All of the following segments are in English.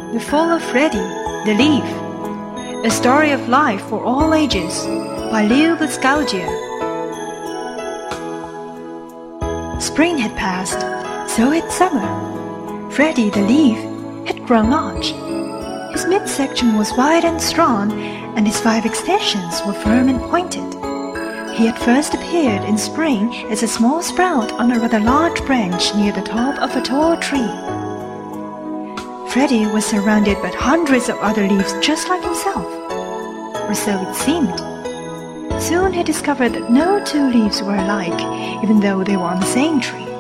The Fall of Freddie, the Leaf. A Story of Life for All Ages by Leo Buscaglia. Spring had passed, so had summer. Freddie, the leaf, had grown large. His midsection was wide and strong, and his 5 extensions were firm and pointed. He had first appeared in spring as a small sprout on a rather large branch near the top of a tall tree. Freddie was surrounded by hundreds of other leaves just like himself, or so it seemed. Soon he discovered that no 2 leaves were alike, even though they were on the same tree.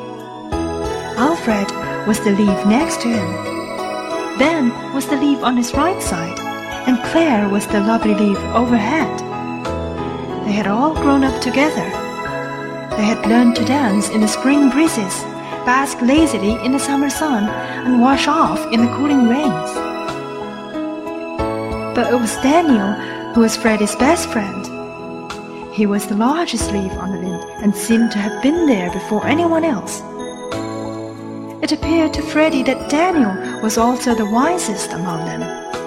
Alfred was the leaf next to him. Ben was the leaf on his right side, and Claire was the lovely leaf overhead. They had all grown up together. They had learned to dance in the spring breezes, bask lazily in the summer sun, and wash off in the cooling rains. But it was Daniel who was Freddie's best friend. He was the largest leaf on the limb and seemed to have been there before anyone else. It appeared to Freddie that Daniel was also the wisest among them.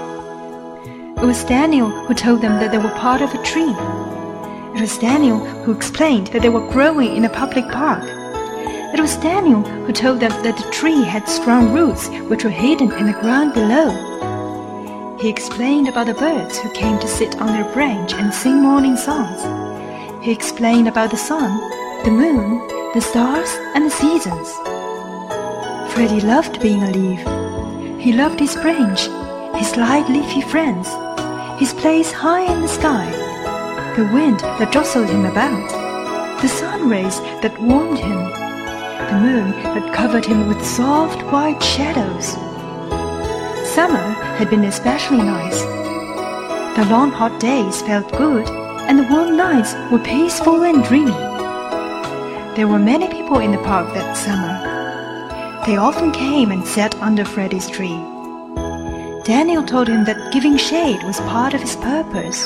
It was Daniel who told them that they were part of a tree. It was Daniel who explained that they were growing in a public park. It was Daniel who told them that the tree had strong roots which were hidden in the ground below. He explained about the birds who came to sit on their branch and sing morning songs. He explained about the sun, the moon, the stars, and the seasons. Freddie loved being a leaf. He loved his branch, his light leafy friends, his place high in the sky, the wind that jostled him about, the sun rays that warmed him, the moon that covered him with soft white shadows. Summer had been especially nice. The long hot days felt good, and the warm nights were peaceful and dreamy. There were many people in the park that summer. They often came and sat under Freddie's tree. Daniel told him that giving shade was part of his purpose.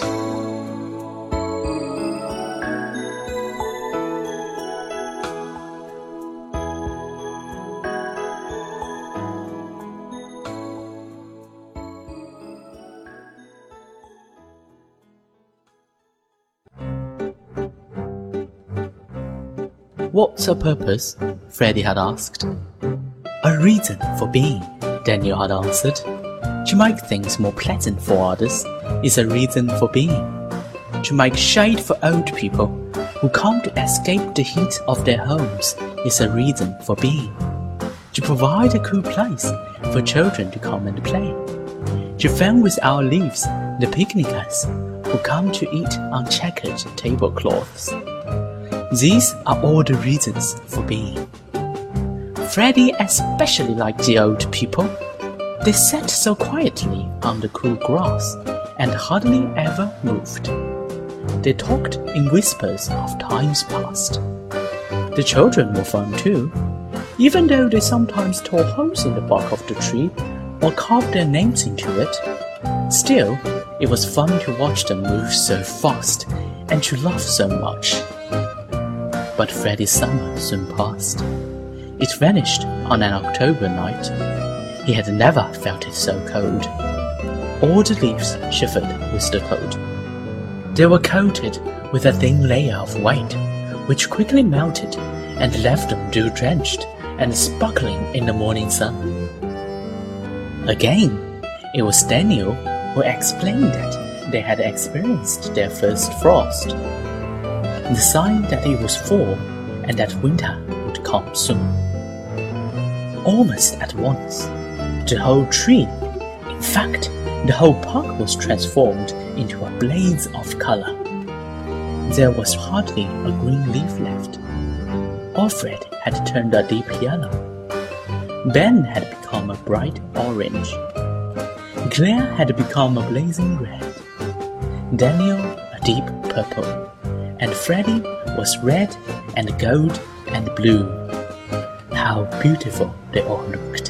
What's a purpose? Freddie had asked. A reason for being, Daniel had answered. To make things more pleasant for others is a reason for being. To make shade for old people who can't escape the heat of their homes is a reason for being. To provide a cool place for children to come and play. To fan with our leaves the picnickers who come to eat on checkered tablecloths. These are all the reasons for being. Freddie especially liked the old people. They sat so quietly on the cool grass and hardly ever moved. They talked in whispers of times past. The children were fun too, even though they sometimes tore holes in the bark of the tree or carved their names into it. Still, it was fun to watch them move so fast and to laugh so much. But Freddie's summer soon passed. It vanished on an October night. He had never felt it so cold. All the leaves shivered with the cold. They were coated with a thin layer of white, which quickly melted and left them dew-drenched and sparkling in the morning sun. Again, it was Daniel who explained that they had experienced their first frost, the sign that it was fall and that winter would come soon. Almost at once, the whole tree, in fact, the whole park was transformed into a blaze of color. There was hardly a green leaf left. Alfred had turned a deep yellow. Ben had become a bright orange. Claire had become a blazing red. Daniel a deep purple. And Freddie was red and gold and blue. How beautiful they all looked.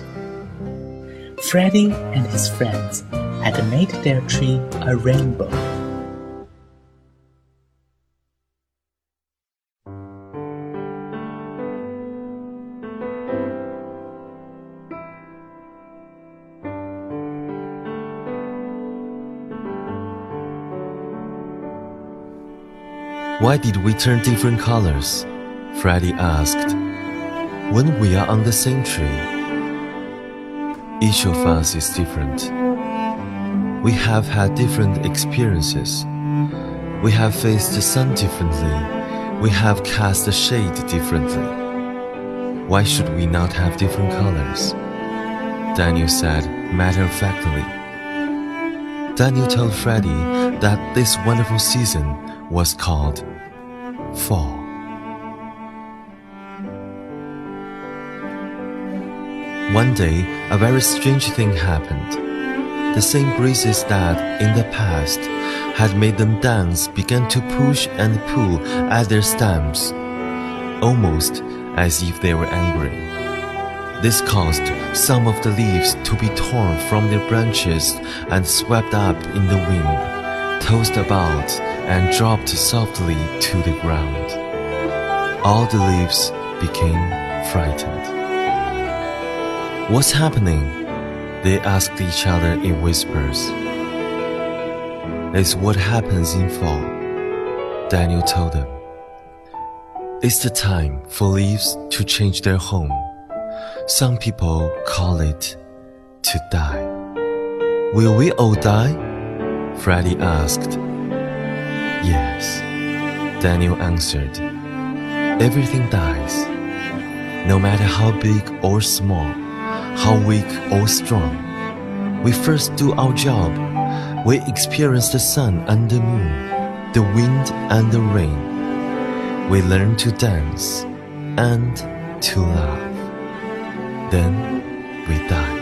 Freddie and his friends had made their tree a rainbow. Why did we turn different colors? Freddy asked. When we are on the same tree. Each of us is different. We have had different experiences. We have faced the sun differently. We have cast the shade differently. Why should we not have different colors? Daniel said matter-of-factly. Daniel told Freddy that this wonderful season was called fall. One day, a very strange thing happened. The same breezes that, in the past, had made them dance began to push and pull at their stems, almost as if they were angry. This caused some of the leaves to be torn from their branches and swept up in the wind, tossed about and dropped softly to the ground. All the leaves became frightened. What's happening? They asked each other in whispers. It's what happens in fall, Daniel told them. It's the time for leaves to change their home. Some people call it to die. Will we all die? Freddy asked. Yes, Daniel answered. Everything dies, no matter how big or small, how weak or strong. We first do our job. We experience the sun and the moon, the wind and the rain. We learn to dance and to laugh. Then we die.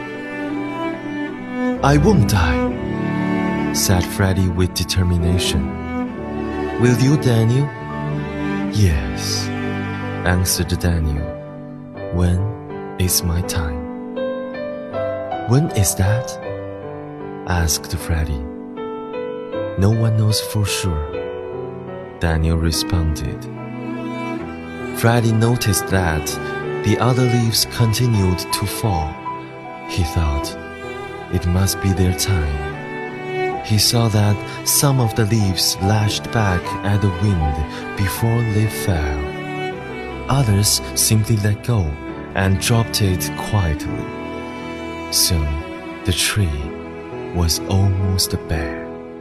I won't die, said Freddy with determination. Will you, Daniel? Yes, answered Daniel. When is my time? When is that? Asked Freddy. No one knows for sure, Daniel responded. Freddy noticed that the other leaves continued to fall. He thought, it must be their time. He saw that some of the leaves lashed back at the wind before they fell. Others simply let go and dropped it quietly. Soon, the tree was almost bare.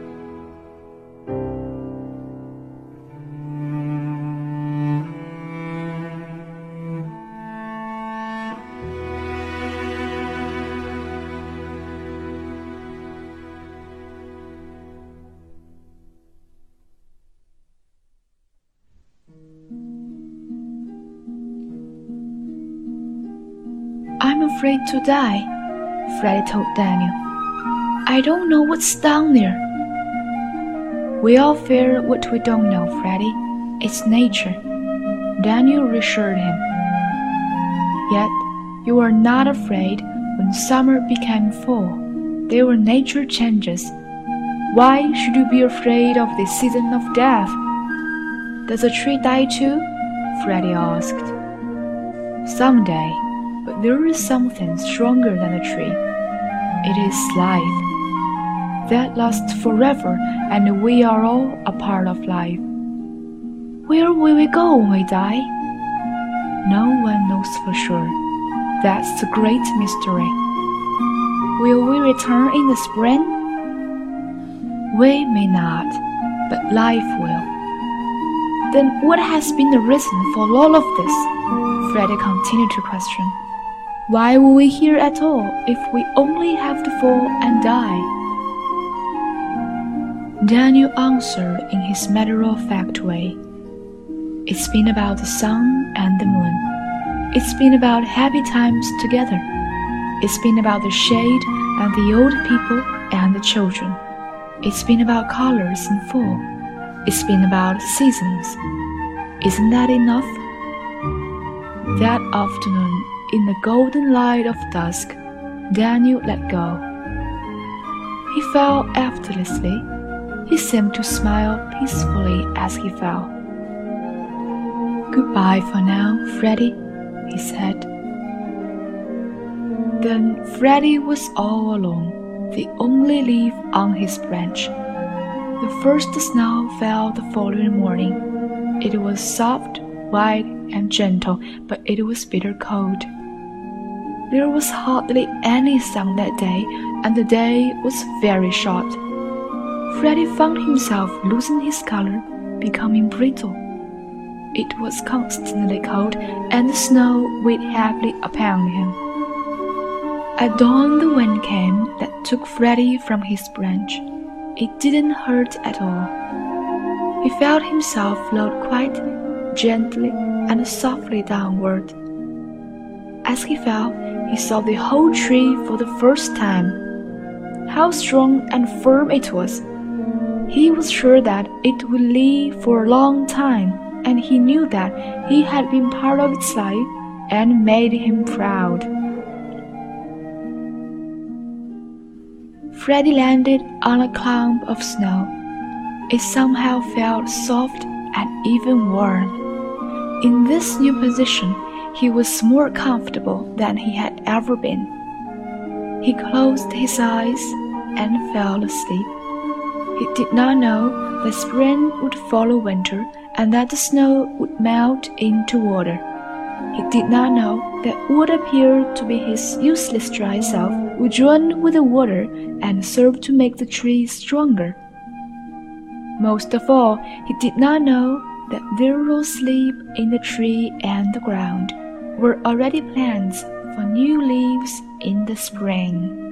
I'm afraid to die, Freddy told Daniel. I don't know what's down there. We all fear what we don't know, Freddy. It's nature. Daniel reassured him. Yet, you were not afraid when summer became fall. They were nature changes. Why should you be afraid of the season of death? Does a tree die too? Freddy asked. Someday, but there is something stronger than a tree. It is life. That lasts forever, and we are all a part of life. Where will we go when we die? No one knows for sure. That's the great mystery. Will we return in the spring? We may not, but life will. Then what has been the reason for all of this? Freddy continued to question. Why were we here at all if we only have to fall and die? Daniel answered in his matter-of-fact way. It's been about the sun and the moon. It's been about happy times together. It's been about the shade and the old people and the children. It's been about colors in fall. It's been about seasons. Isn't that enough? That afternoon, in the golden light of dusk, Daniel let go. He fell effortlessly. He seemed to smile peacefully as he fell. Goodbye for now, Freddy, he said. Then Freddy was all alone, the only leaf on his branch. The first snow fell the following morning. It was soft, white, and gentle, but it was bitter cold. There was hardly any sun that day, and the day was very short. Freddie found himself losing his color, becoming brittle. It was constantly cold, and the snow weighed heavily upon him. At dawn the wind came that took Freddie from his branch. It didn't hurt at all. He felt himself float quite gently and softly downward. As he fell, he saw the whole tree for the first time. How strong and firm it was! He was sure that it would live for a long time, and he knew that he had been part of its life and made him proud. Freddie landed on a clump of snow. It somehow felt soft and even warm. In this new position, he was more comfortable than he had ever been. He closed his eyes and fell asleep. He did not know that spring would follow winter and that the snow would melt into water. He did not know that what appeared to be his useless dry self would join with the water and serve to make the tree stronger. Most of all, he did not know that there were asleep in the tree and the ground were already plants for new leaves in the spring.